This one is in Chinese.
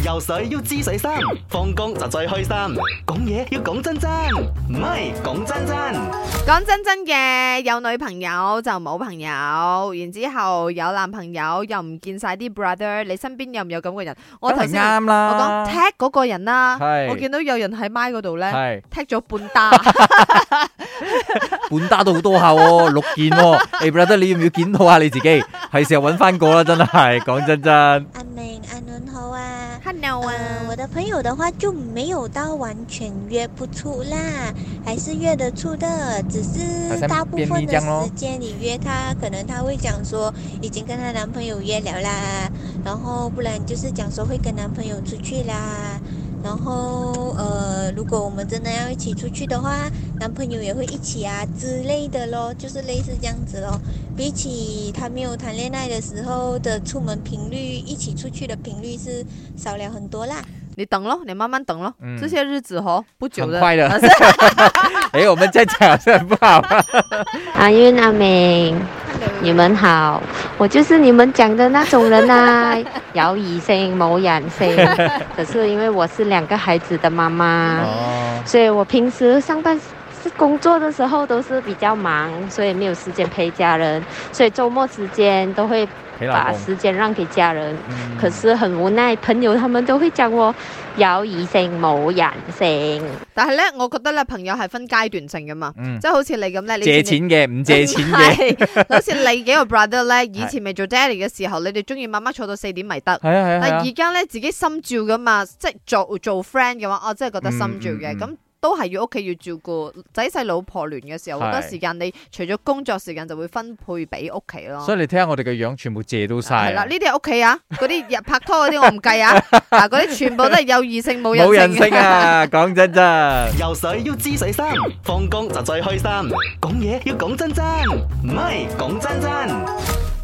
游水要知水深，放工就最開心。講嘢要講真真，唔係講真真。 講真真嘅，有女朋友就冇朋友，然之後有男朋友又唔見晒啲 brother， 你身邊有唔有咁嘅人？我頭先啱啦， 我講踢嗰個人啦， 係我見到有人喺麥嗰度咧係踢咗半打， 半打都好多下喎，6件喎。誒，brother，你要唔要檢討下你自己？係時候揾翻個啦，真係講真真。 阿明阿倫好啊 Hello 啊， 我的朋友的話就沒有到完全約不出啦，還是約得出的，只是大部分的時間你約他，可能他會講說已經跟他男朋友約了啦，然後不然就是講說會跟男朋友出去啦，然後如果我們真的要一起出去的話，男朋友也會一起啊之類的咯，就是類似這樣子咯。比起他沒有談戀愛的時候的出門頻率，一起出去的頻率是少了很多啦。 你等咯，你慢慢等咯，這些日子不久的。 很快的。我們在講是很不好。 阿韻阿明，你們好，我就是你們講的那種人啊，有異性冇人性。可是因為我是2個孩子的媽媽，所以我平時上班工作的時候都是比較忙，所以沒有時間陪家人，所以周末時間都會把時間讓給家人。可是很無奈，朋友他們都會講我有異性冇人性。 但係咧，我覺得咧，朋友係分階段性噶嘛，即係好似你咁咧，你借錢嘅唔借錢嘅， 好似你幾個 brother 咧，以前未做 daddy 嘅時候，你哋中意媽媽坐到4點咪得， 係啊， 但係而家咧自己心照噶嘛，即係做 friend 嘅話，我真係覺得心照嘅咁。都係要屋企要照顧仔細老婆亂嘅時候，好多時間你除咗工作時間就會分配俾屋企咯。 所以你睇下我哋嘅樣，全部借到晒。 係啦，呢啲係屋企啊，嗰啲拍拖嗰啲我唔計啊，嗱嗰啲全部都係有異性冇人性。 冇人性啊，講真真。 游水要知水深，放工就最開心。講嘢要講真真，唔係講真真。